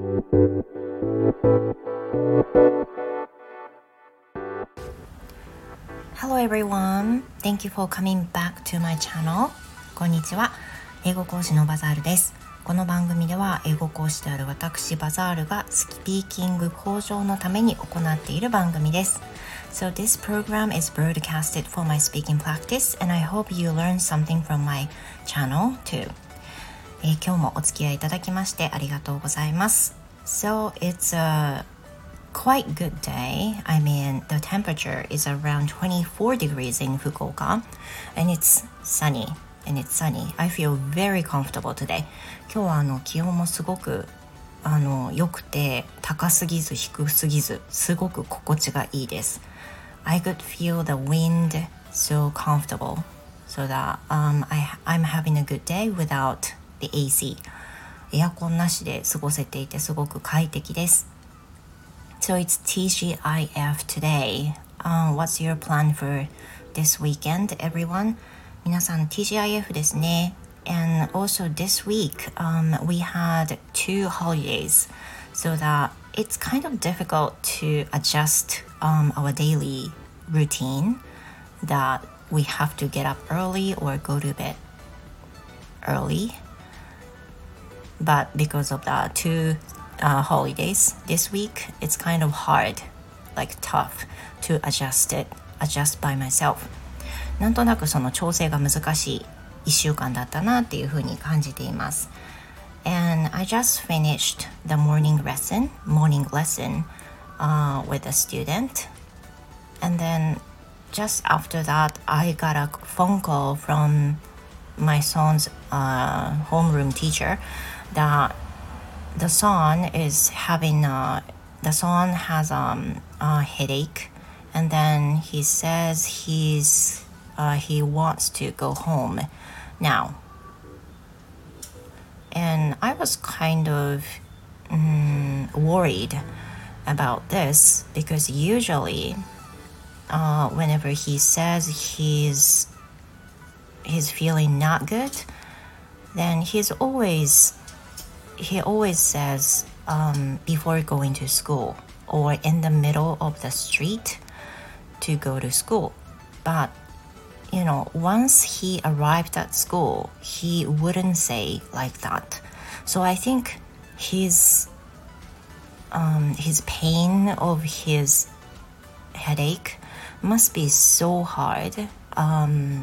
Hello everyone. Thank you for coming back to my channel. こんにちは。英語講師のバザールです。この番組では英語講師である私バザールがスピーキング向上のために行っている番組です。So this program is broadcasted for my speaking practice and I hope you learn something from my channel too. 今日もお付き合いいただきましてありがとうございます。So it's a quite good day. I mean, the temperature is around 24 degrees in Fukuoka and it's sunny. I feel very comfortable today. 今日は気温もすごく良くて高すぎず低すぎずすごく心地がいいです。I could feel the wind so comfortable so that I'm having a good day without the AC. エアコンなしで過ごせていてすごく快適です。So it's TGIF today. What's your plan for this weekend, everyone? 皆さん TGIF ですね。And also this week, we had 2 holidays, so that it's kind of difficult to adjust our daily routine that we have to get up early or go to bed early. But because of the 2 holidays this week, it's kind of hard, like tough to adjust by myself. なんとなくその調整が難しい1週間だったなっていうふうに感じています。And I just finished the morning lesson, with a student. And then just after that, I got a phone call from my son's homeroom teacher that the son has a headache, and then he says he wants to go home now. And I was kind of worried about this because usually whenever he says he's feeling not good, then he always says before going to school or in the middle of the street to go to school. But once he arrived at school, he wouldn't say like that. So I think his pain of his headache must be so hard than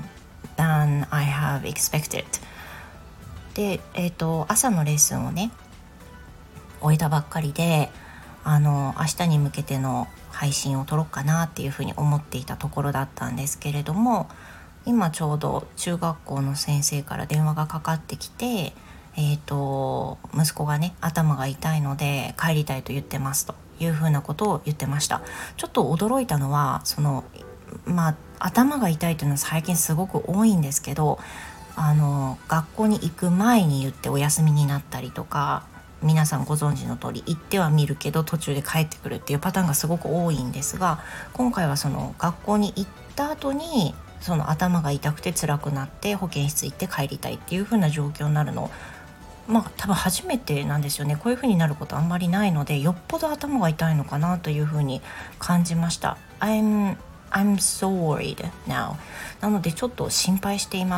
I have expected. で、朝のレッスンをね終えたばっかりで明日に向けての配信を撮ろうかなっていうふうに思っていたところだったんですけれども、今ちょうど中学校の先生から電話がかかってきて、息子がね頭が痛いので帰りたいと言ってますというふうなことを言ってました。ちょっと驚いたのは頭が痛いというのは最近すごく多いんですけど、学校に行く前に言ってお休みになったりとか、皆さんご存知の通り行っては見るけど途中で帰ってくるっていうパターンがすごく多いんですが、今回はその学校に行った後にその頭が痛くて辛くなって保健室行って帰りたいっていう風な状況になるの多分初めてなんですよね。こういう風になることあんまりないので、よっぽど頭が痛いのかなという風に感じました。I'm so worried now. なのでちょっと心配しています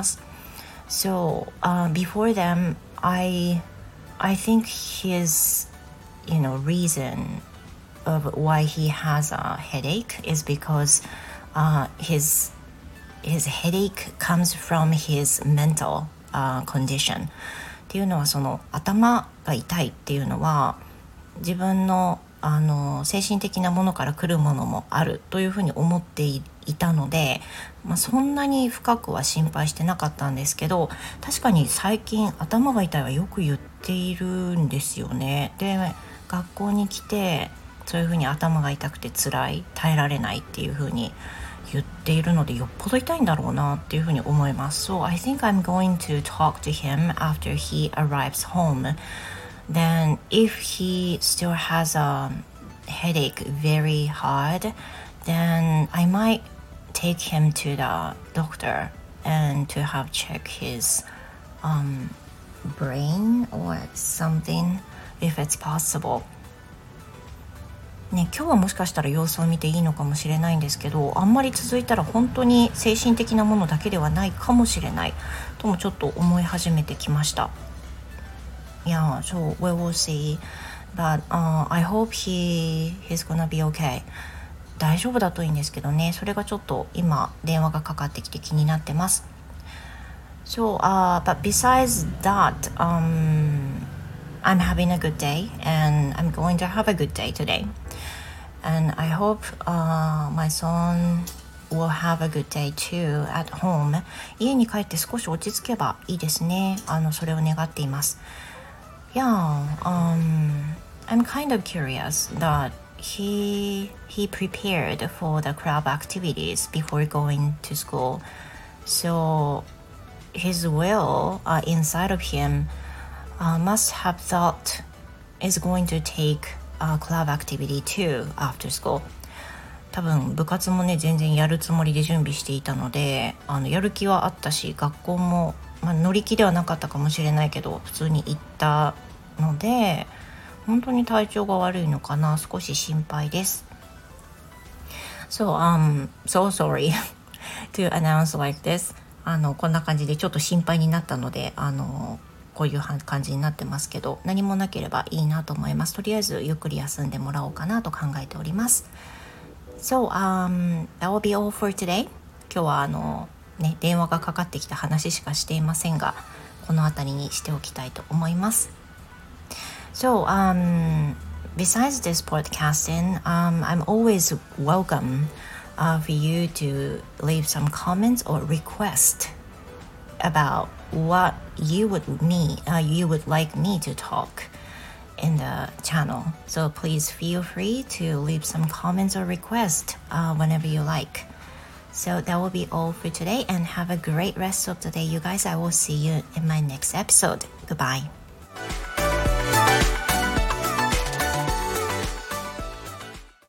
。So before them, I think his reason of why he has a headache is because his headache comes from his mental condition. っていうのはその頭が痛いっていうのは自分の精神的なものから来るものもあるというふうに思っていたので、そんなに深くは心配してなかったんですけど、確かに最近頭が痛いはよく言っているんですよね。で、学校に来てそういうふうに頭が痛くて辛い、耐えられないっていうふうに言っているので、よっぽど痛いんだろうなっていうふうに思います。So I think I'm going to talk to him after he arrives home. Then if he still has a headache very hard, then I might take him to the doctor and to have check his brain or something if it's possible。ね、今日はもしかしたら様子を見ていいのかもしれないんですけど、あんまり続いたら本当に精神的なものだけではないかもしれないともちょっと思い始めてきました。Yeah, so we will see. But, I hope he's gonna be okay. 大丈夫だといいんですけどね。それがちょっと今電話がかかってきて気になってます。So, but besides that, I'm having a good day and I'm going to have a good day today. And I hope, my son will have a good day too at home. 家に帰って少し落ち着けばいいですね。それを願っています。Yeah, I'm kind of curious that he prepared for the club activities before going to school. So his will, inside of him, must have thought is going to take a club activity too after school. 多分部活もね全然やるつもりで準備していたので、やる気はあったし、学校も、乗り気ではなかったかもしれないけど普通に行ったので、本当に体調が悪いのかな、少し心配です。So, so sorry to announce like this. こんな感じでちょっと心配になったので、こういう感じになってますけど、何もなければいいなと思います。とりあえずゆっくり休んでもらおうかなと考えております。So, that will be all for today. 今日は電話がかかってきた話しかしていませんが、この辺りにしておきたいと思います。So, besides this podcasting, I'm always welcome for you to leave some comments or request about what you would like me to talk in the channel. So please feel free to leave some comments or requests whenever you like. So that will be all for today, and have a great rest of the day, you guys. I will see you in my next episode. Goodbye.